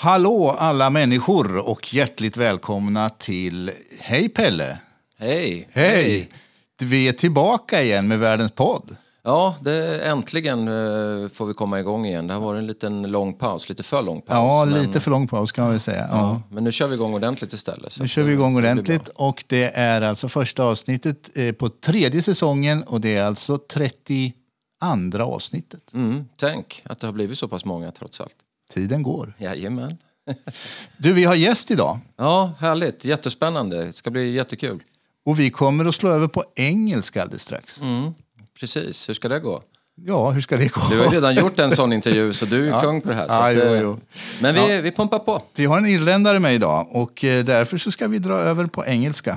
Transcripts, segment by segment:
Hallå alla människor och hjärtligt välkomna till Hej Pelle. Hej. Hej. Vi är tillbaka igen med Världens podd. Ja, äntligen får vi komma igång igen. Det har varit en liten lång paus, lite för lång paus. Ja, lite för lång paus kan man väl säga. Ja. Men nu kör vi igång ordentligt istället. Nu kör vi igång ordentligt och det är alltså första avsnittet på 3:e säsongen och det är alltså 32:a avsnittet. Tänk att det har blivit så pass många trots allt. Tiden går. Jajamän. Du, vi har gäst idag. Ja, härligt. Jättespännande. Det ska bli jättekul. Och vi kommer att slå över på engelska alldeles strax. Precis. Hur ska det gå? Ja, hur ska det gå? Du har redan gjort en sån intervju så du är kung på det här. Så jo. Men vi pumpar på. Vi har en irländare med idag och därför så ska vi dra över på engelska.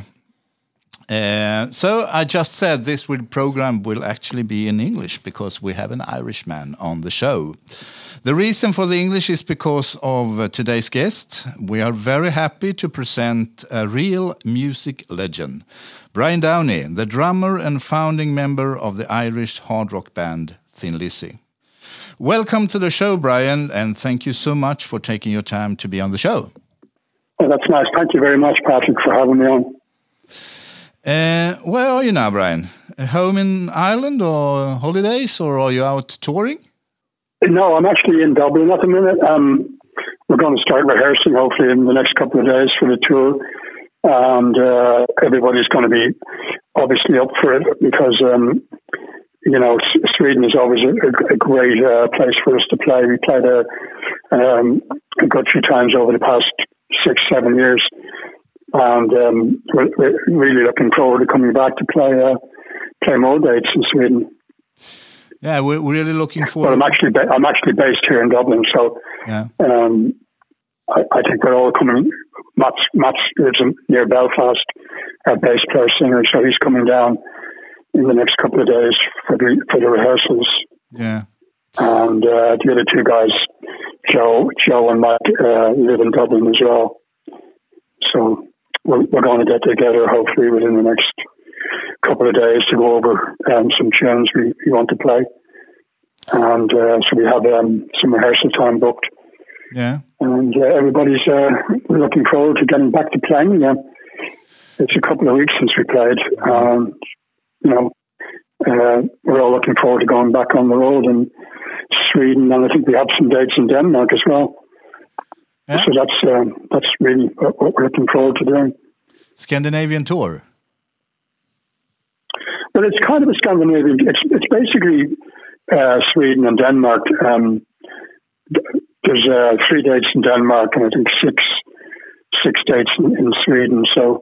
So I just said this program will actually be in English because we have an Irishman on the show. The reason for the English is because of today's guest. We are very happy to present a real music legend, Brian Downey, the drummer and founding member of the Irish hard rock band Thin Lizzy. Welcome to the show, Brian, and thank you so much for taking your time to be on the show. Oh, that's nice. Thank you very much, Patrick, for having me on. Where are you now, Brian? Home in Ireland or holidays, or are you out touring? No, I'm actually in Dublin at the minute. We're going to start rehearsing hopefully in the next couple of days for the tour. And everybody's going to be obviously up for it because, Sweden is always a great place for us to play. We played there a good few times over the past 6-7 years. And we're really looking forward to coming back to play more dates in Sweden. Yeah, we're really looking forward. But I'm actually based here in Dublin, so yeah. I think we're all coming. Mats lives near Belfast, our bass player singer, so he's coming down in the next couple of days for the rehearsals. Yeah, and the other two guys, Joe and Mike, live in Dublin as well. So we're going to get together hopefully within the next couple of days to go over some tunes we want to play. And so we have some rehearsal time booked. Yeah. And everybody's looking forward to getting back to playing again. It's a couple of weeks since we played. We're all looking forward to going back on the road in Sweden, and I think we have some dates in Denmark as well. Yeah. So that's really what we're looking forward to doing. Scandinavian tour. Well, it's kind of a Scandinavian. It's basically Sweden and Denmark. There's 3 dates in Denmark and I think six dates in Sweden. So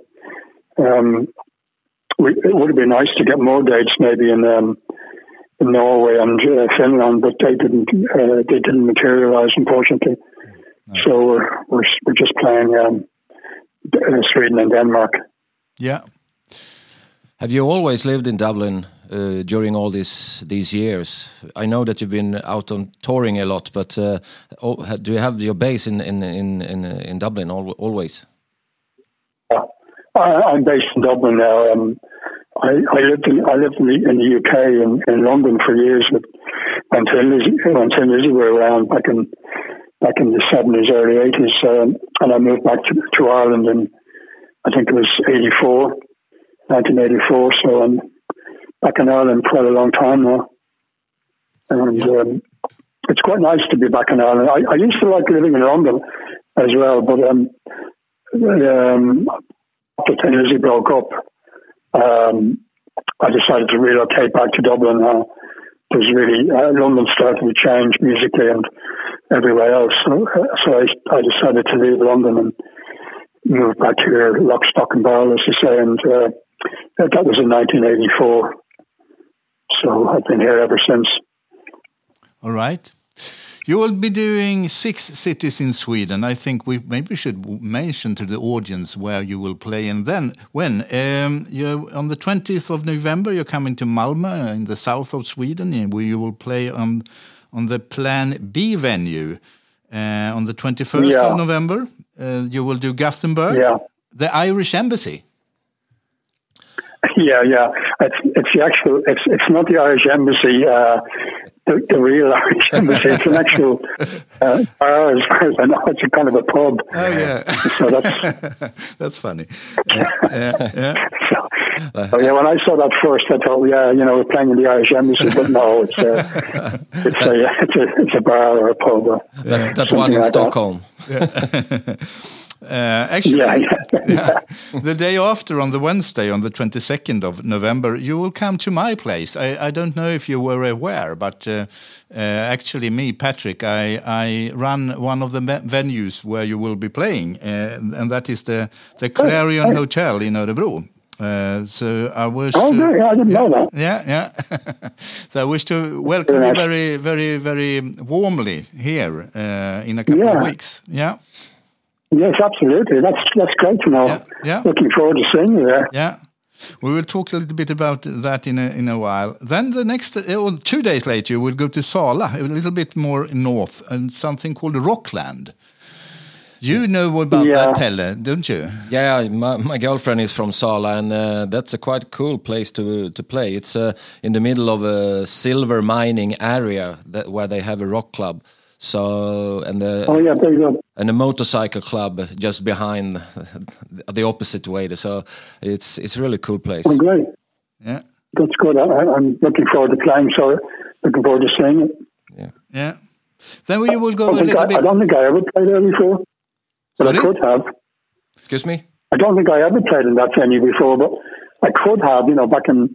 it would have been nice to get more dates maybe in Norway and Finland, but they didn't materialize, unfortunately. No. So we're just playing Sweden and Denmark. Yeah. Have you always lived in Dublin during all these years? I know that you've been out on touring a lot, but do you have your base in Dublin always? Yeah. I'm based in Dublin now. I lived in the UK in London for years when Thin Lizzy were around back in the 70s, early 80s, and I moved back to Ireland in I think it was 1984, so I'm back in Ireland quite a long time now. And it's quite nice to be back in Ireland. I used to like living in London as well, but after Thin Lizzy broke up, I decided to relocate back to Dublin now. There's really, London started to change musically and everywhere else. So I decided to leave London and move back here, lock, stock and barrel, as you say, and that was in 1984. So I've been here ever since. All right. You will be doing 6 cities in Sweden. I think we maybe should mention to the audience where you will play and then when. On the 20th of November, you're coming to Malmö in the south of Sweden, where you will play on the Plan B venue. On the 21st of November, you will do Gothenburg, the Irish Embassy. Yeah. It's the actual. It's not the Irish Embassy. the real Irish Embassy. It's an actual bar, as far as I know. It's a kind of a pub. Oh yeah, so that's that's funny. Yeah. So yeah, when I saw that first, I thought, yeah, you know, we're playing in the Irish Embassy, but no, it's a bar or a pub. That one in Stockholm. Actually, the day after, on the Wednesday, on the 22nd of November, you will come to my place. I don't know if you were aware, but actually me, Patrick, I run one of the venues where you will be playing, and that is the Clarion Hotel in Örebro. So I wish I didn't know that. Yeah. So I wish to welcome you very, very, very warmly here in a couple of weeks. Yeah. Yes, absolutely. That's great to know. Yeah. Looking forward to seeing you there. Yeah. We will talk a little bit about that in a while. Then the next 2 days later, you will go to Sala, a little bit more north, and something called Rockland. You know about that, Pelle, don't you? Yeah, my girlfriend is from Sala, and that's a quite cool place to play. It's in the middle of a silver mining area where they have a rock club. So there you go. And a motorcycle club just behind the opposite way. So it's a really cool place. Oh, great. Yeah. That's good. I'm looking forward to playing, so looking forward to seeing it. Yeah. Then we will go a little bit... I don't think I ever played there before, but I could have. Excuse me? I don't think I ever played in that venue before, but I could have, you know, back in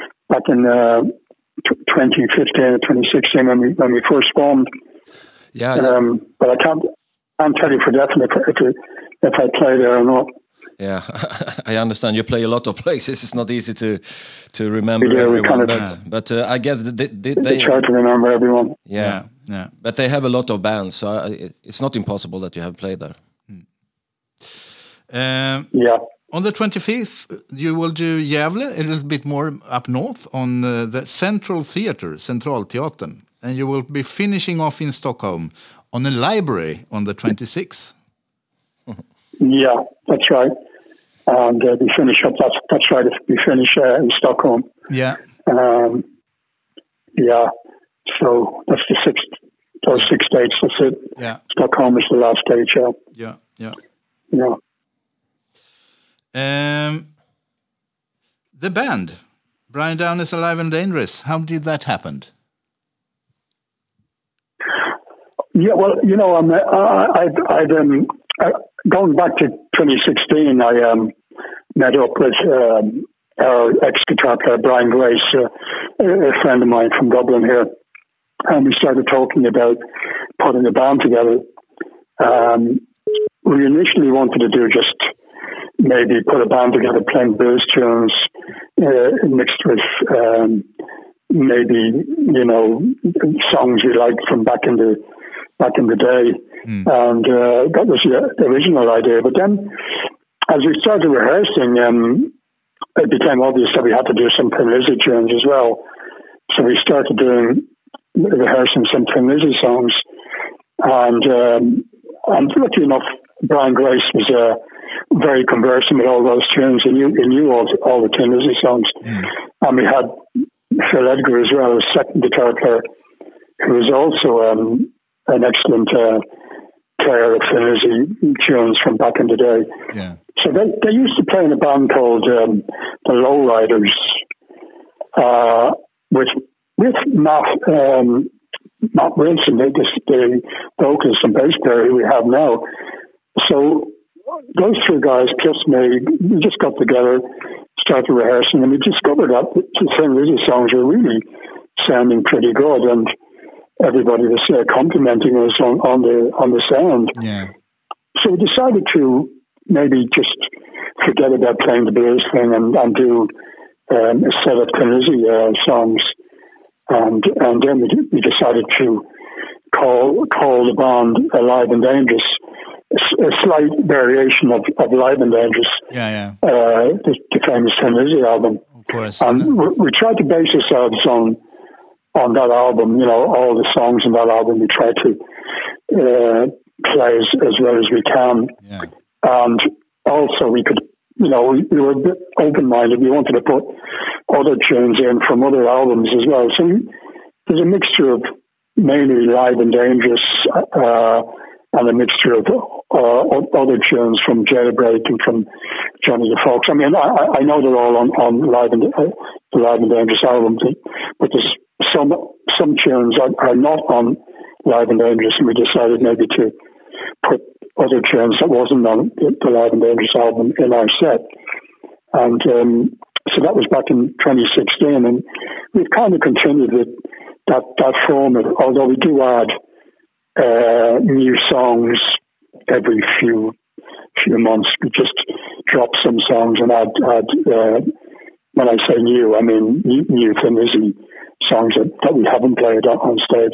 2015 or 2016 when we first formed. Yeah. But I can't tell you for definite if I play there or not. Yeah, I understand. You play a lot of places. It's not easy to remember everyone. But I guess they try to remember everyone. Yeah. But they have a lot of bands, so it's not impossible that you have played there. On the 25th, you will do Gävle, a little bit more up north, on the Central Theatre, Centralteatern. And you will be finishing off in Stockholm on a library on the 26th. Yeah, that's right. And we finish up. That's right. We finish in Stockholm. Yeah. So that's the sixth. Those 6 dates. That's it. Yeah. Stockholm is the last date. Yeah. The band, Brian Down is Alive and Dangerous. How did that happen? Yeah, well, you know, going back to 2016, I met up with our ex-guitar player, Brian Grace, a friend of mine from Dublin here, and we started talking about putting a band together. We initially wanted to do just maybe put a band together playing blues tunes mixed with maybe, you know, songs we liked from back in the day. And that was the original idea. But then as we started rehearsing, it became obvious that we had to do some Thin Lizzy tunes as well. So we started rehearsing some Thin Lizzy songs. And lucky enough, Brian Grace was very conversant with all those tunes. He knew all the Thin Lizzy songs. And we had Phil Edgar as well, as second guitar player, who was also an excellent player of Thin Lizzy tunes from back in the day. Yeah. So they used to play in a band called the Lowriders with Matt Wilson, the vocalist and bass player who we have now. So those two guys plus me, we just got together, started rehearsing, and we discovered that the Thin Lizzy songs were really sounding pretty good, and everybody was complimenting us on the sound. Yeah. So we decided to maybe just forget about playing the blues thing and do a set of Thin Lizzy songs, and then we decided to call the band Alive and Dangerous, a slight variation of Alive and Dangerous. Yeah. The famous Thin Lizzy album. Of course. And we tried to base ourselves on that album, you know, all the songs in that album we try to play as well as we can. Yeah. And also we could, you know, we were a bit open-minded. We wanted to put other tunes in from other albums as well. So there's a mixture of mainly Live and Dangerous and a mixture of other tunes from Jailbreak and from Johnny the Fox. I mean, I know they're all on Live and the Live and Dangerous album, but there's some tunes are not on Live and Dangerous, and we decided maybe to put other tunes that wasn't on the Live and Dangerous album in our set. And so that was back in 2016, and we've kind of continued with that format, although we do add new songs every few months. We just drop some songs and add when I say new, I mean new Thin songs that we haven't played on stage.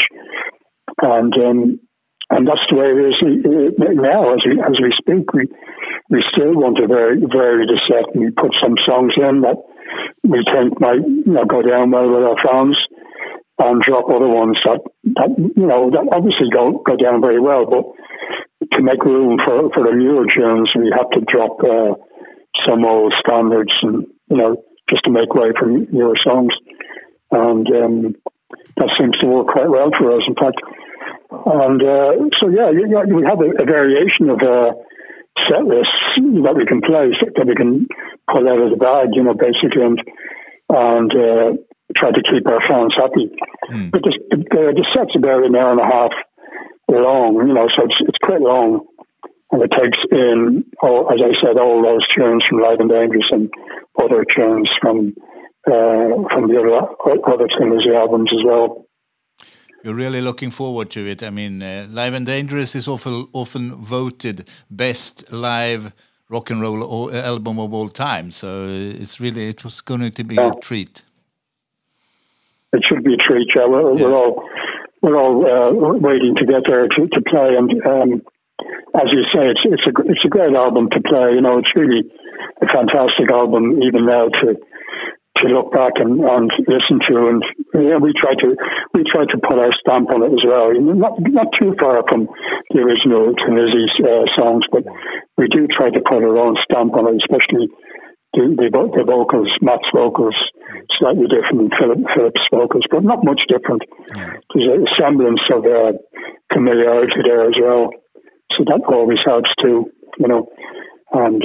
And that's the way it is now. As we speak, we still want to vary the set, and we put some songs in that we think might go down well with our fans, and drop other ones that obviously go down very well. But to make room for the newer tunes, we have to drop some old standards, and just to make way for newer songs. And that seems to work quite well for us, in fact. And so we have a variation of set lists that we can play, that we can pull out of the bag, basically, and try to keep our fans happy. But the set's about an hour and a half long, so it's quite long, and it takes in, as I said, all those tunes from Live and Dangerous and other tunes from the other Thin albums as well. You're really looking forward to it. I mean, Live and Dangerous is often voted best live rock and roll album of all time. So it was going to be a treat. It should be a treat. Yeah, we're all waiting to get there to play. And as you say, it's a great album to play. It's really a fantastic album, even now to look back and listen to, and we try to put our stamp on it as well. Not too far from the original Thin songs, but we do try to put our own stamp on it, especially the vocals, Matt's vocals, slightly different than Philip's vocals, but not much different. There's a semblance of familiarity there as well, so that always helps too. And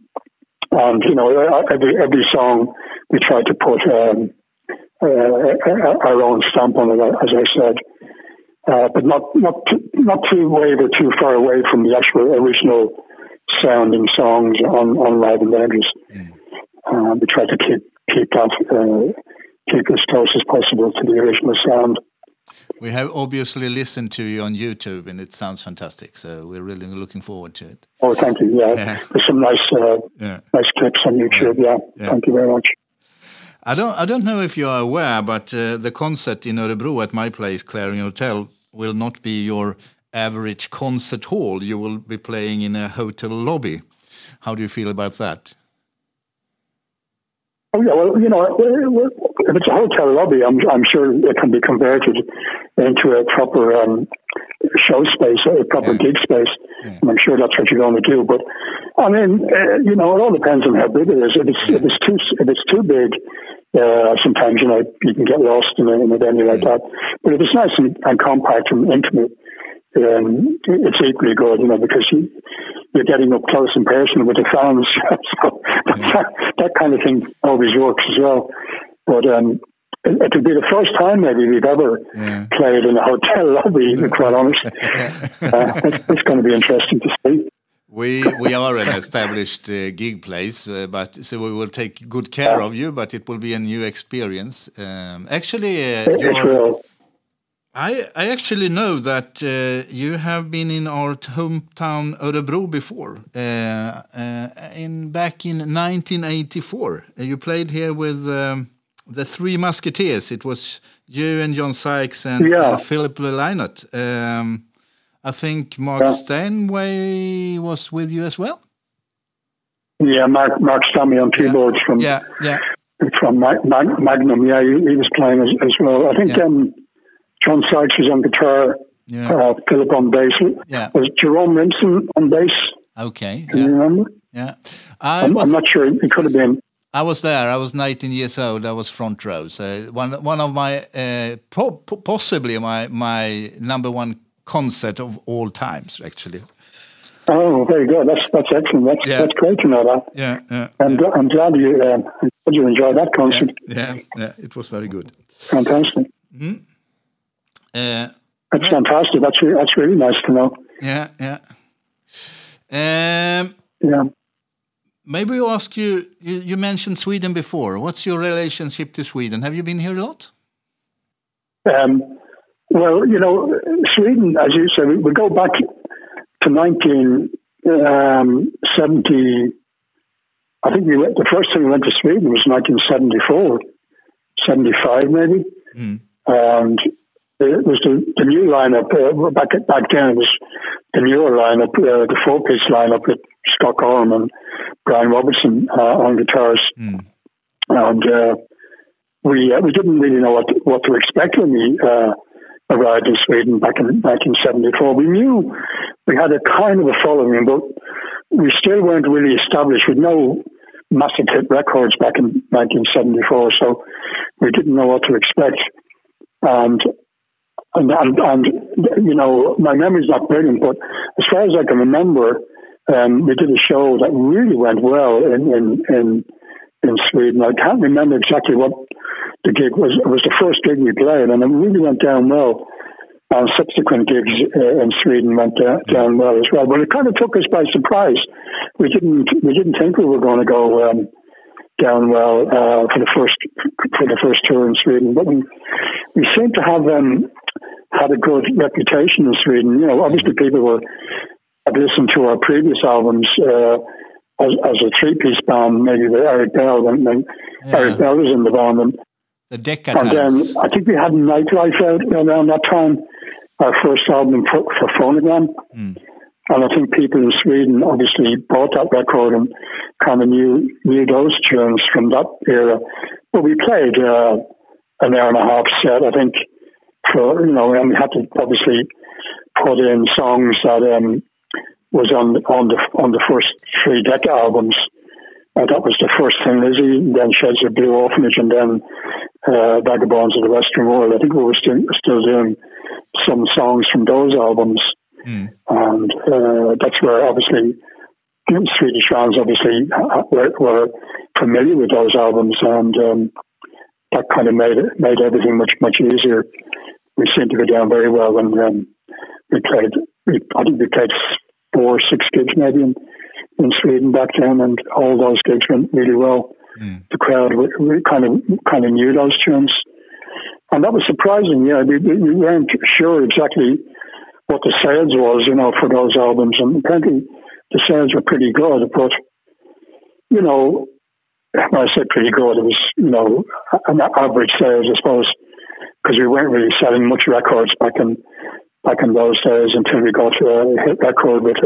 every song we try to put our own stamp on it, as I said, but not too waver too far away from the actual original sounding songs on Live and Dangerous. We try to keep as close as possible to the original sound. We have obviously listened to you on YouTube, and it sounds fantastic. So we're really looking forward to it. Oh, thank you. Yeah, there's some nice clips on YouTube. Yeah, thank you very much. I don't know if you are aware, but the concert in Örebro at my place, Clarion Hotel, will not be your average concert hall. You will be playing in a hotel lobby. How do you feel about that? Oh yeah, well, if it's a hotel lobby, I'm sure it can be converted into a proper show space, a proper gig space. Yeah. And I'm sure that's what you're going to do. But I mean, it all depends on how big it is. If it's too big, sometimes you can get lost in a venue like that. But if it's nice and compact and intimate, it's equally good, because you're getting up close and personal with the fans. So that kind of thing always works as well. But it would be the first time maybe we've ever played in a hotel lobby, to be quite honest. It's going to be interesting to see. We are an established gig place, but so we will take good care of you, but it will be a new experience. I actually know that you have been in our hometown Örebro before. Back in 1984, you played here with the Three Musketeers. It was you and John Sykes and Philip Lynott. I think Mark Steinway was with you as well. Yeah, Mark Stammy on keyboards from Magnum. Yeah, he was playing as well. I think John Sykes was on guitar. Philip on bass. Was Jerome Rimson on bass? Okay. Can you remember? Yeah. I'm not sure. It could have been. I was there. I was 19 years old. I was front row. So one of my possibly my number one concert of all times, actually. Oh, very good. That's excellent. That's great to know that. Yeah. I'm glad you enjoyed that concert. Yeah. It was very good. Fantastic. Mm-hmm. That's fantastic. That's really nice to know. Yeah. Yeah. Maybe we ask you. You mentioned Sweden before. What's your relationship to Sweden? Have you been here a lot? Well, Sweden, as you said, we go back to 1970. I think the first time we went to Sweden was 1974, 75 maybe. Mm. And it was the new lineup. Back then it was the newer lineup, the four-piece lineup with Scott Gorham and Brian Robertson on guitars. Mm. And we didn't really know what to expect when we arrived in Sweden back in 1974. We knew we had a kind of a following, but we still weren't really established with no massive hit records back in 1974. So we didn't know what to expect. And my memory's not brilliant, but as far as I can remember, we did a show that really went well in Sweden. I can't remember exactly what the gig was. It was the first gig we played, and it really went down well. And subsequent gigs in Sweden went down well as well. But it kind of took us by surprise. We didn't think we were going to go down well for the first tour in Sweden. But we seem to have had a good reputation in Sweden. Obviously people had listened to our previous albums as a three-piece band, maybe with Eric Bell, and Eric Bell was in the band. And then I think we had Nightlife out around that time, our first album for Phonogram. Mm. And I think people in Sweden obviously bought that record and kind of knew those tunes from that era. But we played an hour and a half set, I think, and we had to obviously put in songs that was on the first three Decca albums. That was the first thing, Lizzie, then Shades of Blue Orphanage, and then Vagabonds of the Western World. I think we were still doing some songs from those albums. Mm. And that's where obviously Swedish fans obviously were familiar with those albums, and that kind of made everything much easier. We seemed to go down very well when we played. I think we played 4 or 6 gigs maybe in Sweden back then, and all those gigs went really well. Mm. The crowd we kind of knew those tunes, and that was surprising. Yeah, we weren't sure exactly what the sales was, for those albums, and apparently the sales were pretty good. But when I say pretty good, it was an average sales, I suppose, because we weren't really selling much records back in those days until we got a hit record with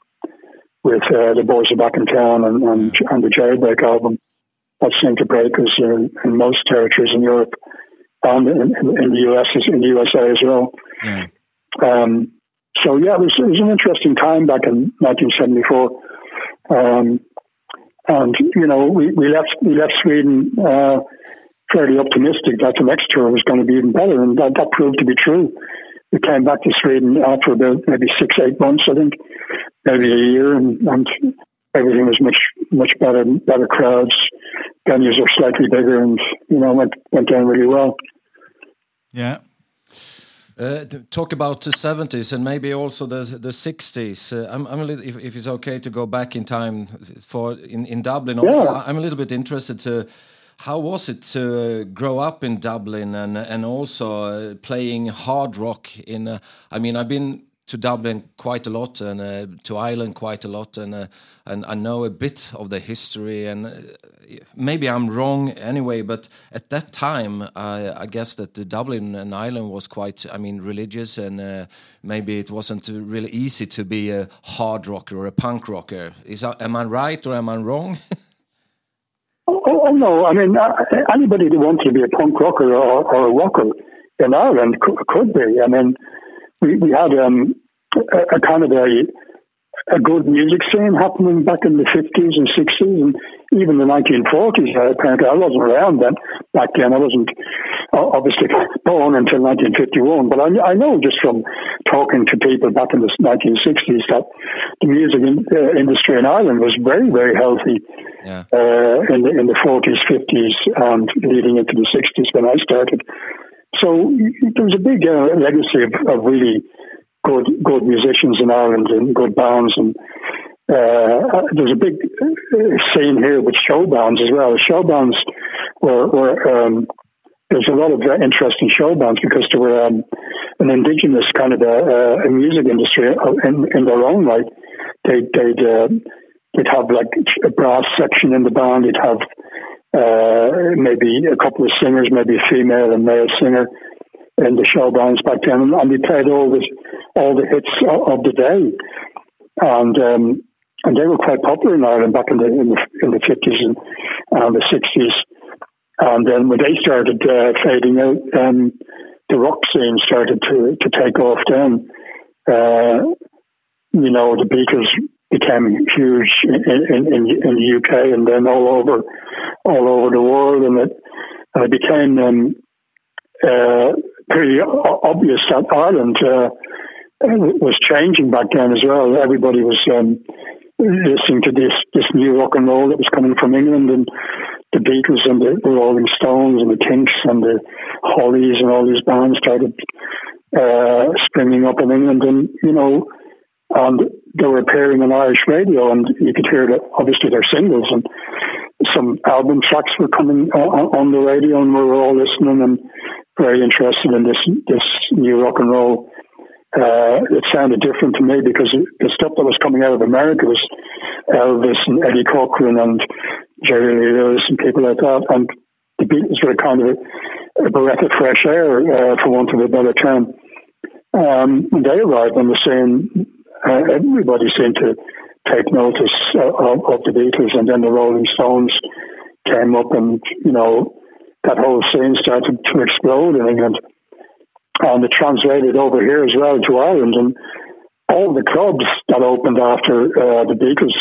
the Boys Are Back in Town and the Jailbreak album. That seemed to break us in most territories in Europe and in the US, in the USA as well. Yeah. So yeah, it was an interesting time back in 1974. And we left Sweden fairly optimistic that the next tour was going to be even better, and that proved to be true. We came back to Sweden after about maybe 6-8 months, I think, maybe a year, and everything was much better crowds. Venues were slightly bigger, and went down really well. Yeah. Talk about the 70s and maybe also the 60s. I'm a little, if it's okay to go back in time in Dublin. Yeah. I'm a little bit interested to. How was it to grow up in Dublin and also playing hard rock in? I've been to Dublin quite a lot and to Ireland quite a lot, and I know a bit of the history. And maybe I'm wrong anyway, but at that time, I guess that the Dublin and Ireland was quite, religious, and maybe it wasn't really easy to be a hard rocker or a punk rocker. Am I right or am I wrong? Oh no! Anybody who wanted to be a punk rocker or a rocker in Ireland could be. We had a kind of a good music scene happening back in the 50s and 60s and even the 1940s. Apparently, I wasn't around then. Back then, I wasn't obviously born until 1951. But I know just from talking to people back in the 1960s that the music industry in Ireland was very, very healthy. Yeah. In the 40s, 50s, and leading into the 60s when I started. So there was a big legacy of really good musicians in Ireland and good bands, and there's a big scene here with show bands as well. Show bands were there's a lot of interesting show bands because they were an indigenous kind of a music industry in their own right. They'd have like a brass section in the band. They'd have maybe a couple of singers, maybe a female and male singer in the show bands back then, and they played all the hits of the day, and they were quite popular in Ireland back in the 50s and the 60s. And then when they started fading out, the rock scene started to take off. Then the Beatles became huge in the UK and then all over the world, and it became pretty obvious that Ireland was changing back then as well. Everybody was listening to this new rock and roll that was coming from England, and the Beatles and the Rolling Stones and the Kinks and the Hollies and all these bands started springing up in England, and and they were appearing on Irish radio, and you could hear that obviously their singles, and some album tracks were coming on the radio, and we were all listening and very interested in this new rock and roll. It sounded different to me because the stuff that was coming out of America was Elvis and Eddie Cochran and Jerry Lee Lewis and people like that, and the Beatles were kind of a breath of fresh air, for want of a better term. When they arrived on the scene, everybody seemed to take notice of the Beatles, and then the Rolling Stones came up, and that whole scene started to explode in England. And it translated over here as well to Ireland, and all the clubs that opened after the Beatles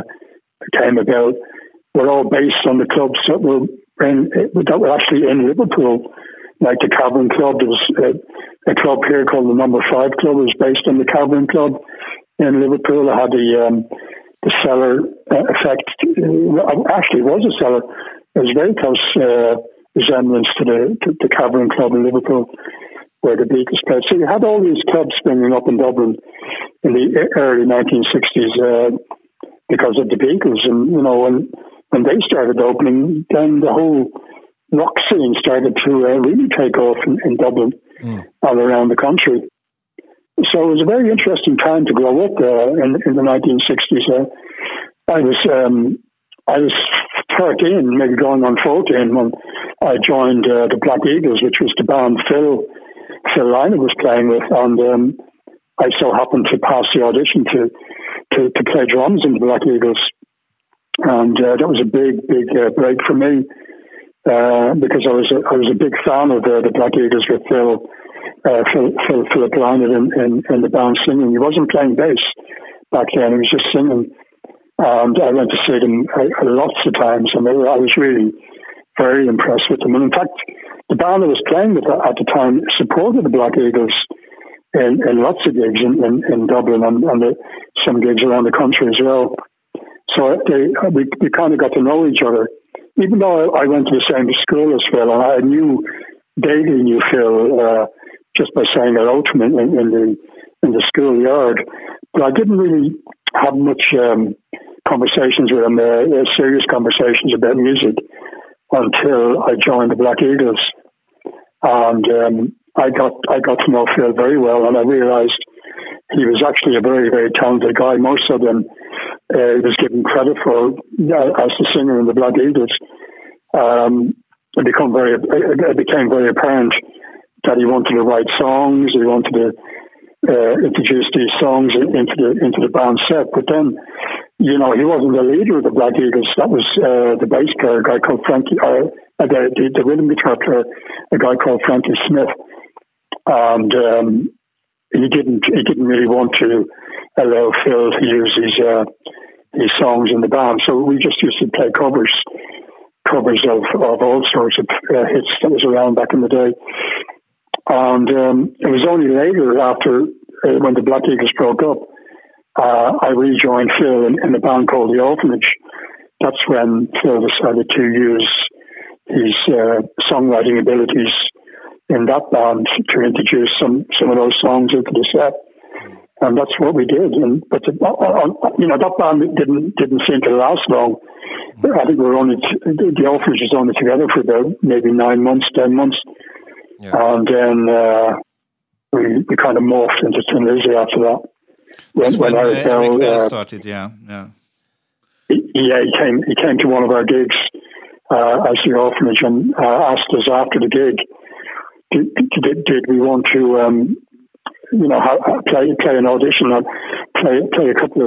came about were all based on the clubs that were actually in Liverpool, like the Cavern Club. There was a club here called the Number 5 Club. It was based on the Cavern Club in Liverpool. It had the cellar effect. Actually, it was a cellar. It was very close resemblance to the Cavern Club in Liverpool, where the Beatles played. So you had all these clubs springing up in Dublin in the early 1960s because of the Beatles. And, when they started opening, then the whole rock scene started to really take off in Dublin all around the country. So it was a very interesting time to grow up in the 1960s. I was 13, maybe going on 14, when I joined the Black Eagles, which was the band Phil Lynott was playing with, and I so happened to pass the audition to play drums in the Black Eagles, and that was a big break for me because I was a big fan of the Black Eagles with Philip Lynott in the band singing. He wasn't playing bass back then; he was just singing. And I went to see them lots of times, and I was really very impressed with them. And in fact, the band I was playing with at the time supported the Black Eagles in lots of gigs in Dublin and some gigs around the country as well. So we kind of got to know each other. Even though I went to the same school as Phil, and I vaguely knew Phil just by saying hello to him in the schoolyard, but I didn't really have much conversations with him, serious conversations about music, until I joined the Black Eagles, and I got to know Phil very well, and I realised he was actually a very, very talented guy, more so than he was given credit for as the singer in the Black Eagles. It became very apparent that he wanted to write songs. He wanted to introduce these songs into the band set, but then he wasn't the leader of the Black Eagles. That was the bass player, a guy called Frankie, the rhythm guitar player, a guy called Frankie Smith, and he didn't really want to allow Phil to use his songs in the band. So we just used to play covers of all sorts of hits that was around back in the day. And it was only later, after when the Black Eagles broke up, I rejoined Phil in a band called The Orphanage. That's when Phil decided to use his songwriting abilities in that band to introduce some of those songs into the set. And that's what we did. But that band didn't seem to last long. I think the Orphanage was only together for about maybe 9 months, 10 months. Yeah. And then we kind of morphed into Thin Lizzy after that. When Eric Bell started, yeah. He came to one of our gigs as The Orphanage and asked us after the gig, did we want to play an audition and play a couple of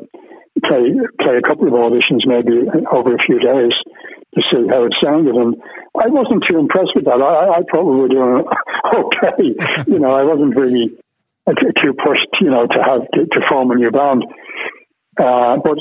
auditions maybe over a few days to see how it sounded. And I wasn't too impressed with that. I thought we were doing okay. I wasn't really too pushed, to form a new band. But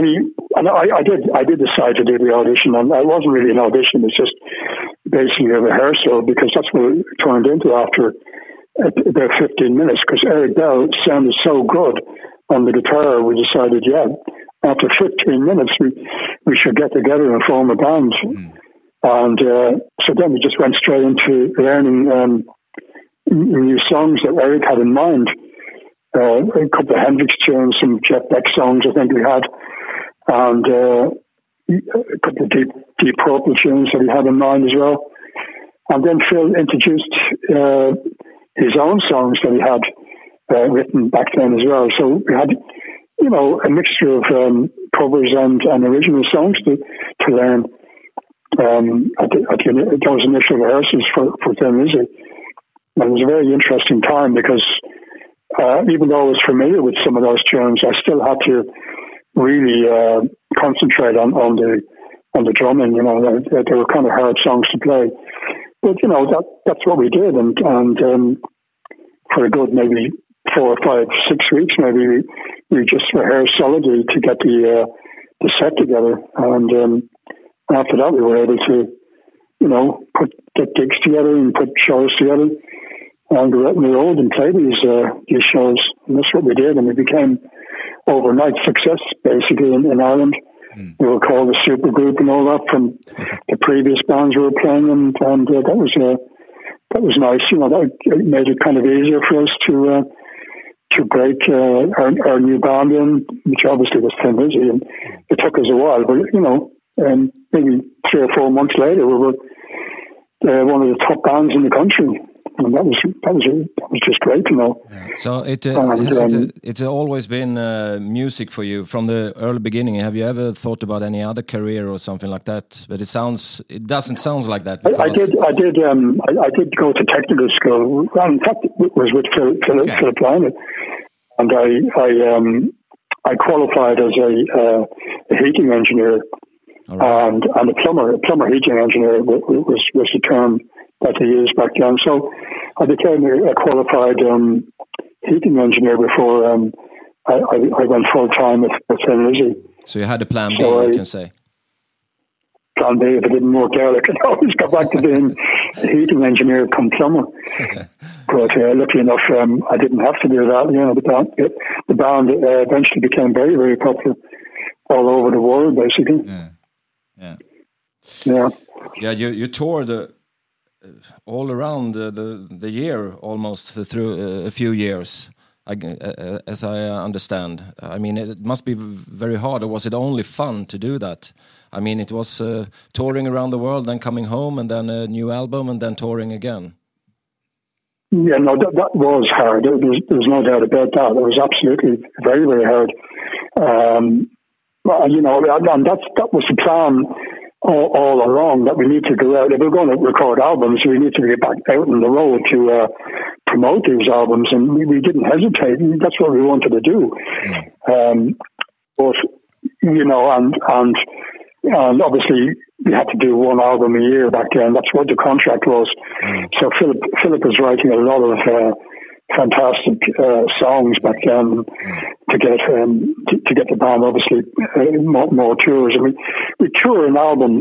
I did decide to do the audition, and it wasn't really an audition. It's just basically a rehearsal, because that's what it turned into after about 15 minutes, because Eric Bell sounded so good on the guitar. We decided, after 15 minutes, we should get together and form a band. And so then we just went straight into learning new songs that Eric had in mind. A couple of Hendrix tunes, some Jeff Beck songs I think we had, and a couple of Deep Purple tunes that he had in mind as well. And then Phil introduced his own songs that he had written back then as well. So we had, a mixture of covers and original songs to learn at those initial rehearsals for Thin Lizzy. And it was a very interesting time, because even though I was familiar with some of those tunes, I still had to really concentrate on the drumming. They were kind of hard songs to play. But that's what we did, and for a good maybe 4 or 5, 6 weeks, maybe we just rehearsed solidly to get the set together, and after that we were able to get gigs together and put shows together, and go out on the road and play these shows, and that's what we did, and we became overnight success basically in Ireland. We were called a super group and all that from the previous bands we were playing, and that was nice. That made it kind of easier for us to break our new band in, which obviously was Thin Lizzy, and it took us a while, but maybe 3 or 4 months later we were one of the top bands in the country. And that was just great to know. So it's always been music for you from the early beginning. Have you ever thought about any other career or something like that? But it doesn't sound like that. I did go to technical school. In fact, it was with Philip Lynott, and I qualified as a heating engineer, right. and a plumber heating engineer was the term that they used back then. So I became a qualified heating engineer before I went full time with Thin Lizzy. So you had a plan B, you can say. Plan B, if it didn't work out, I could always go back to being a heating engineer come plumber. But luckily enough, I didn't have to do that. The band eventually became very, very popular all over the world, basically. Yeah, you toured all around the year, almost through a few years, as I understand. I mean, it must be very hard, or was it only fun to do that? I mean, it was touring around the world, then coming home, and then a new album, and then touring again. Yeah, no, that was hard. There's no doubt about that. It was absolutely very, very hard. And that was the plan all along, that we need to go out. If we're going to record albums, we need to get back out on the road to promote these albums, and we didn't hesitate. That's what we wanted to do. But and obviously we had to do one album a year back then. That's what the contract was. So Philip was writing a lot of fantastic songs back then. to get the band obviously more tours. I mean, we tour an album,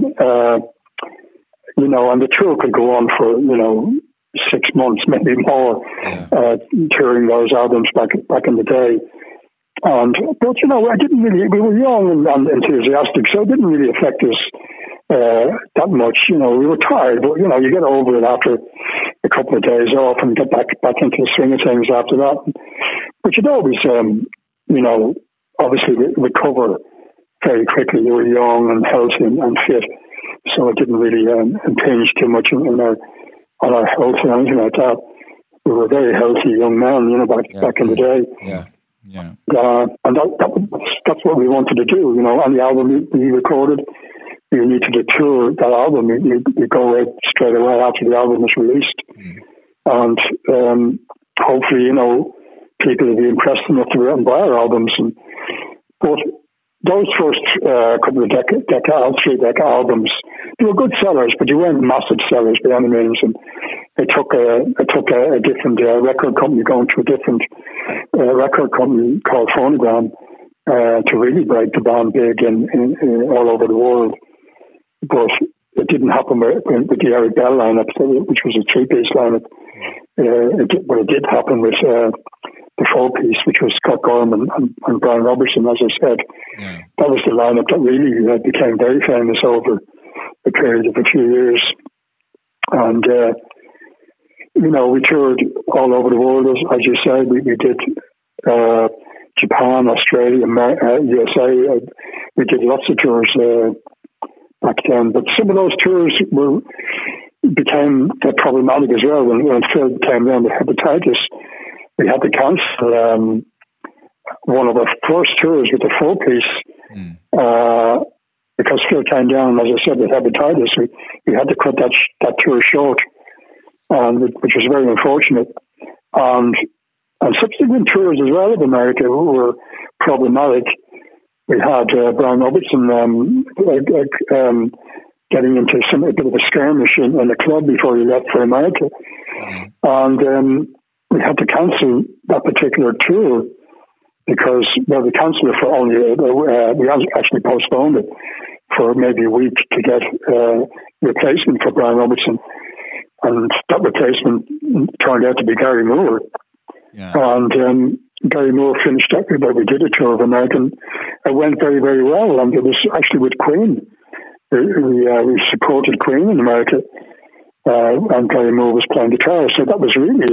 and the tour could go on for 6 months, maybe more, touring those albums back in the day. But I didn't really. We were young and enthusiastic, so it didn't really affect us that much. We were tired, but you get over it after a couple of days off and get back into the swing of things after that. But you'd always, obviously recover very quickly. You were young and healthy and fit, so it didn't really impinge too much on our health or anything like that. We were very healthy young men, back in the day. Yeah. Yeah. And that's what we wanted to do. On the album we recorded, we needed to tour that album. We go right straight away after the album was released. And hopefully, people will be impressed enough to go out and buy our albums. But those first couple of 3 albums, they were good sellers, but they weren't massive sellers by any means. And it took a different record company going to a different record company called Phonogram to really break the band big in all over the world. But it didn't happen with the Eric Bell lineup, which was a 3-piece lineup. But it did happen with the 4-piece, which was Scott Gorham and Brian Robertson, as I said. Yeah. That was the lineup that really became very famous over a period of a few years. And, we toured all over the world, as you said. We did Japan, Australia, USA. We did lots of tours back then. But some of those tours became problematic as well. When Phil came down with hepatitis, we had to cancel one of our first tours with the 4-piece because Phil came down, as I said, with hepatitis. We had to cut that tour short, which was very unfortunate. And subsequent tours as well of America were problematic. We had Brian Robertson getting into a bit of a skirmish in a club before he left for America. And we had to cancel that particular tour because, we canceled it for only, we actually postponed it for maybe a week to get a replacement for Brian Robertson. And that replacement turned out to be Gary Moore. Yeah. And Gary Moore finished up with we did a tour of America. It went very, very well. And it was actually with Queen. We supported Queen in America. And Gary Moore was playing guitar. So that was really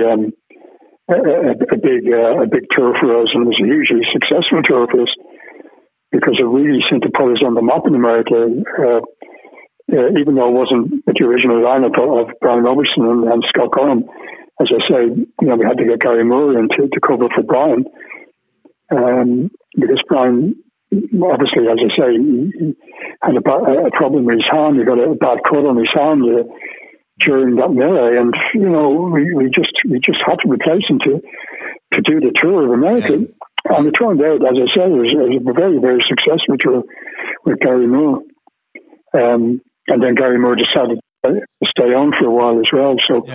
a big tour for us, and it was a hugely successful tour for us because it really seemed to put us on the map in America. Even though it wasn't the original lineup of Brian Robertson and Scott Gorham, as I say, we had to get Gary Moore in to cover for Brian, because Brian, obviously, as I say, he had a problem with his hand. He got a bad cut on his hand during that melee, and we just had to replace him to do the tour of America. And it turned out, as I said, it was a very, very successful tour with Gary Moore. And then Gary Moore decided to stay on for a while as well. So,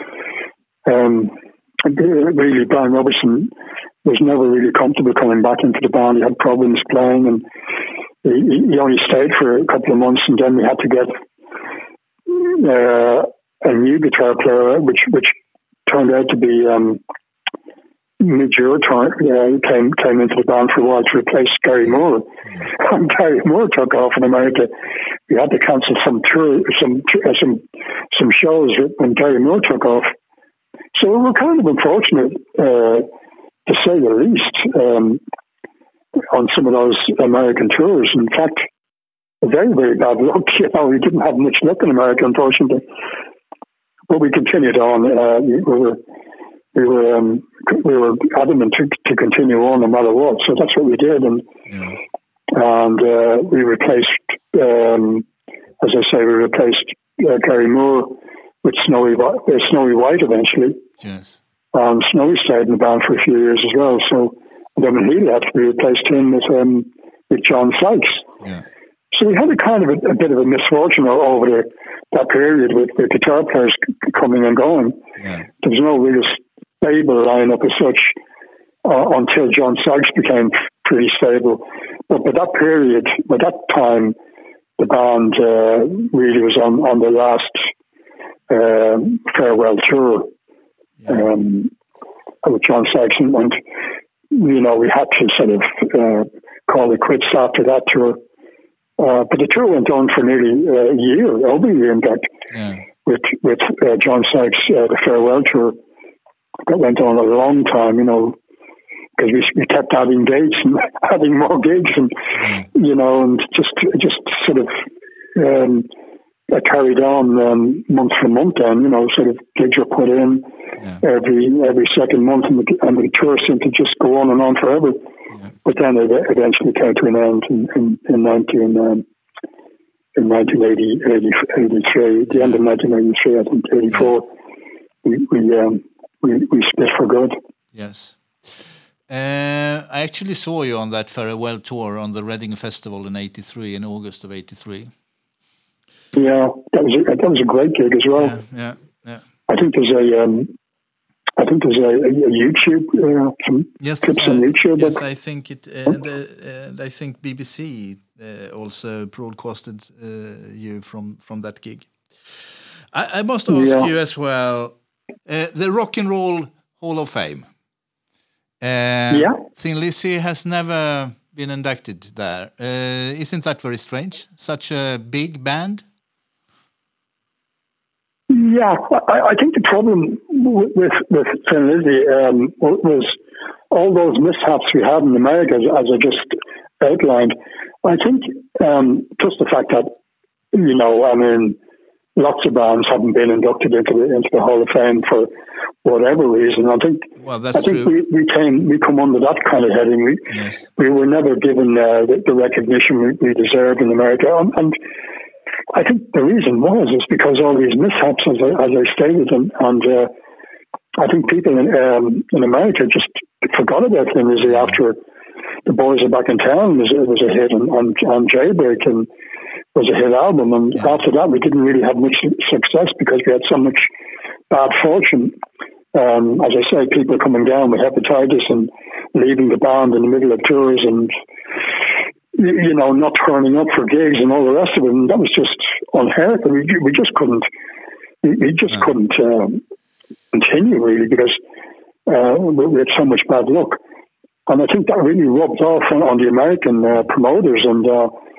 really, Brian Robertson was never really comfortable coming back into the band. He had problems playing, and he only stayed for a couple of months, and then we had to get a new guitar player, which turned out to be Midge Ure came into the band for a while to replace Gary Moore. And Gary Moore took off in America. We had to cancel some shows when Gary Moore took off. So we were kind of unfortunate, to say the least, on some of those American tours. In fact, very, very bad luck. We didn't have much luck in America, unfortunately. But we continued on. We were adamant to continue on no matter what. So that's what we did, and we replaced, as I say, Gary Moore with Snowy White eventually. Yes. Snowy stayed in the band for a few years as well. So then Healy had to be replaced him with John Sykes. Yeah. So we had a bit of a misfortune over that period with the guitar players coming and going. Yeah. There was no real stable lineup as such. until John Sykes became pretty stable. But by that period, by that time, the band really was on the last farewell tour with John Sykes, and we had to sort of call it quits after that tour. But the tour went on for nearly a year, over a year, in fact, with John Sykes, the farewell tour. That went on a long time, because we kept adding dates and adding more gigs, and and just sort of carried on month for month. Then sort of gigs were put in every second month, and the tour seemed to just go on and on forever. Yeah. But then it eventually came to an end in 1983, the end of 1983, I think 84. We split for good. Yes. I actually saw you on that farewell tour on the Reading Festival in '83, in August of '83. Yeah, that was a great gig as well. Yeah. I think there's a YouTube some clips on YouTube. Yes, I think it, and I think BBC also broadcasted you from that gig. I must ask you as well, the Rock and Roll Hall of Fame. Thin Lizzy has never been inducted there. Isn't that very strange? Such a big band. Yeah, I think the problem with Thin Lizzy was all those mishaps we had in America, as I just outlined. I think just the fact that lots of bands haven't been inducted into the Hall of Fame for whatever reason. I think we come under that kind of heading. We were never given the recognition we deserve in America, and I think the reason is because all these mishaps, as I stated, and I think people in America just forgot about Thin Lizzy after The Boys Are Back in Town was a hit, and Jailbreak and was a hit album, and after that we didn't really have much success because we had so much bad fortune. As I say, people coming down with hepatitis and leaving the band in the middle of tours, and not turning up for gigs and all the rest of it, and that was just unheard of. We just couldn't continue really because we had so much bad luck, and I think that really rubbed off on the American promoters, and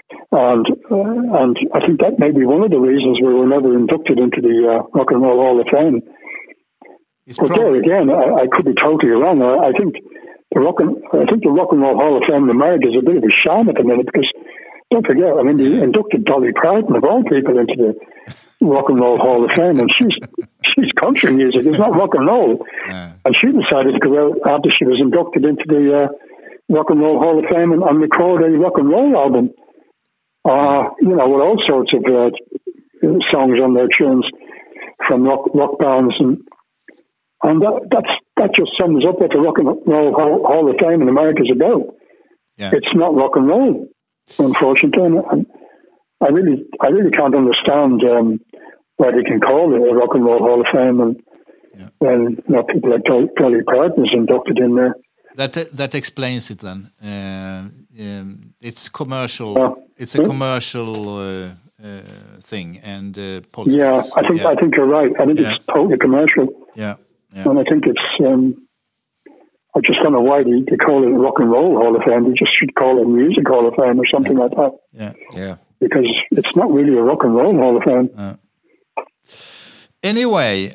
I think that may be one of the reasons we were never inducted into the Rock and Roll Hall of Fame. But there again, I could be totally wrong. I think the Rock and Roll Hall of Fame in America is a bit of a sham at the minute, because don't forget, they inducted Dolly Parton of all people into the Rock and Roll Hall of Fame, and she's country music. It's not rock and roll. And she decided to go out after she was inducted into the Rock and Roll Hall of Fame and record a rock and roll album. With all sorts of songs on their tunes from rock bands, and that just sums up what the Rock and Roll Hall of Fame in America is about. Yeah. It's not rock and roll, unfortunately, and I really can't understand why they can call it a Rock and Roll Hall of Fame, and when people like Dolly Parton is inducted in there. That explains it then. It's commercial. It's a commercial thing, and politics. Yeah, I think you're right. I think it's totally commercial. Yeah. And I think it's. I just don't know why they call it a Rock and Roll Hall of Fame. They just should call it a Music Hall of Fame or something like that. Yeah. Because it's not really a Rock and Roll Hall of Fame. Anyway,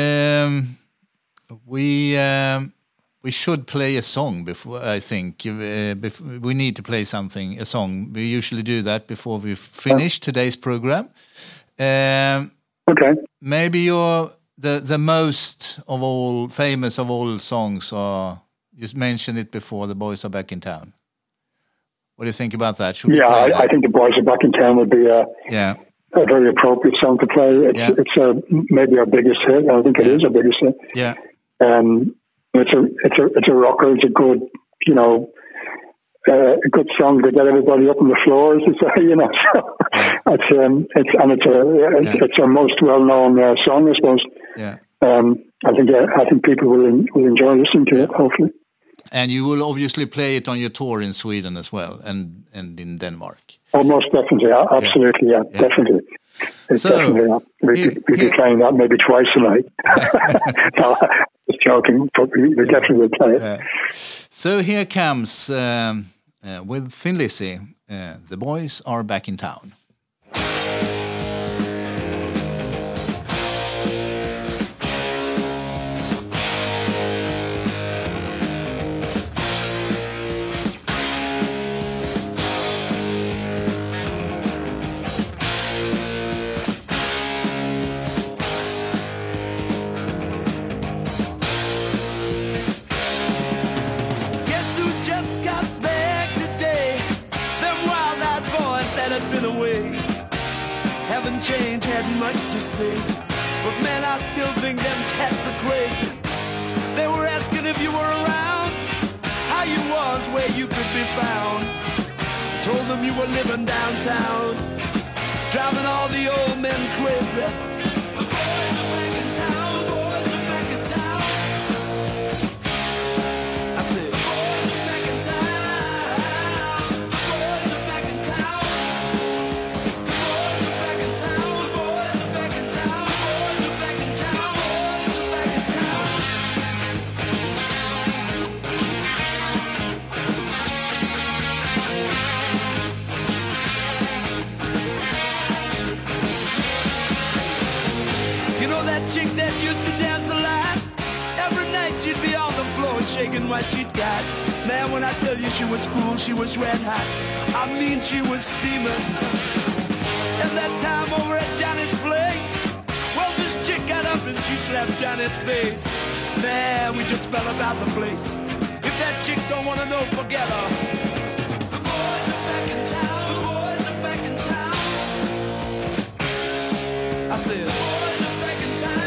we should play a song before. I think we need to play a song. We usually do that before we finish today's program. Okay. Maybe the most of all famous of all songs are. You mentioned it before. The Boys Are Back in Town. What do you think about that? I think The Boys Are Back in Town would be a very appropriate song to play. It's maybe our biggest hit. I think it is our biggest hit. Yeah. It's a rocker. It's a good, a good song to get everybody up on the floor. It's our most well-known song, I suppose. Yeah. I think people will enjoy listening to it. Hopefully. And you will obviously play it on your tour in Sweden as well, and in Denmark. Oh, most definitely, absolutely, yeah. Definitely. So, definitely, yeah. We'd be playing that maybe twice a night. No, just joking, but we definitely will play it. So here comes, with Thin Lizzy, The Boys Are Back in Town. Change had much to say, but man, I still think them cats are crazy. They were asking if you were around, how you was, where you could be found. Told them you were living downtown, driving all the old men crazy. The boys are back in town, the boys are back in town. I said, the boys are back in town, the boys are back in town. Chick that used to dance a lot, every night she'd be on the floor shaking what she'd got. Man, when I tell you she was cool, she was red hot. I mean, she was steaming. And that time over at Johnny's place, well, this chick got up and she slapped Johnny's face. Man, we just fell about the place. If that chick don't want to know, forget her. The boys are back in town, the boys are back in town. I said, boys are back in town.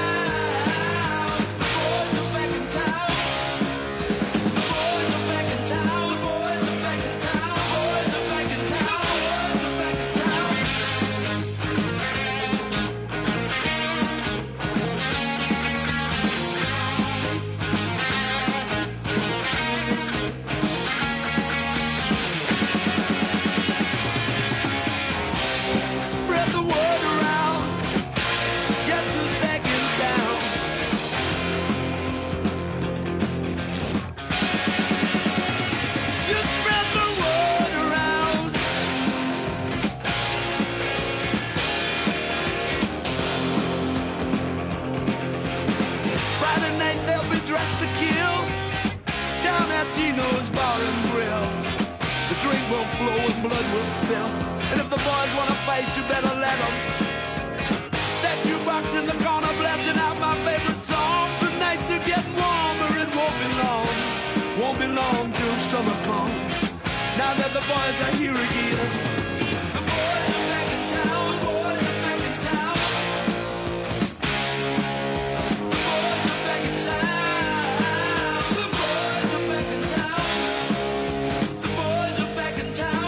Blood will spill, and if the boys wanna fight, you better let them. That jukebox in the corner blasting out my favorite song. The nights are getting warmer, it won't be long till summer comes. Now that the boys are here again, the boys are back in town, the boys are back in town. The boys are back in town, the boys are back in town. The boys are back in town.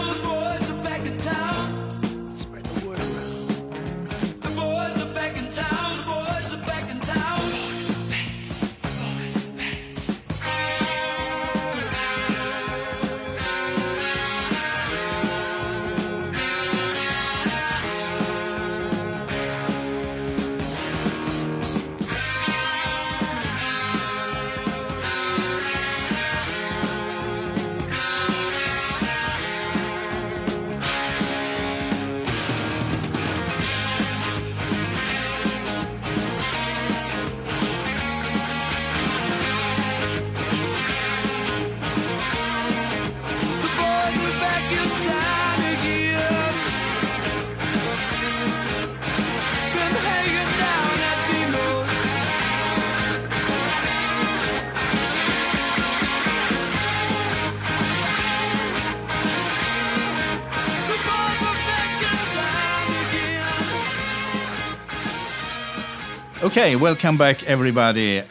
Okay, welcome back, everybody.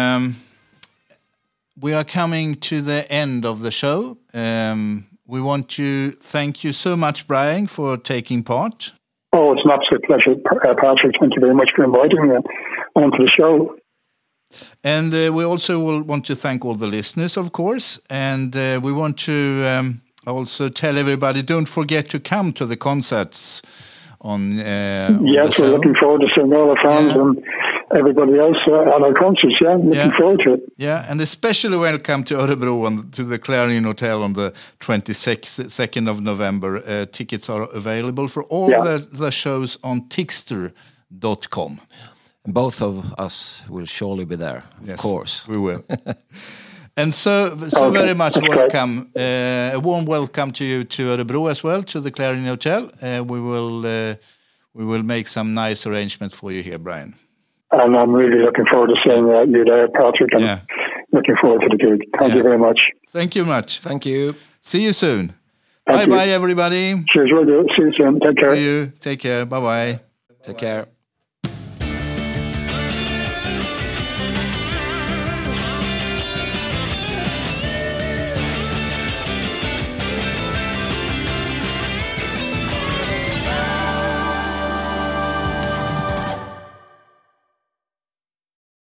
We are coming to the end of the show. We want to thank you so much, Brian, for taking part. Oh, it's an absolute pleasure, Patrick. Thank you very much for inviting me onto the show. And we also will want to thank all the listeners, of course. And we want to also tell everybody, don't forget to come to the concerts on yes, we're looking forward to seeing all the fans and everybody else at our concerts. Yeah, looking forward to it. Yeah, and especially welcome to Örebro to the Clarion Hotel on the 22nd of November. Tickets are available for all the shows on Tixter.com. Both of us will surely be there, of course. We will. And so very much welcome. A warm welcome to you to Örebro as well, to the Clarion Hotel. We will make some nice arrangements for you here, Brian. And I'm really looking forward to seeing you there, Patrick, and looking forward to the gig. Thank you very much. Thank you much. Thank you. See you soon. Bye-bye, everybody. Cheers, will do. See you soon. Take care. See you. Take care. Bye-bye. Take care.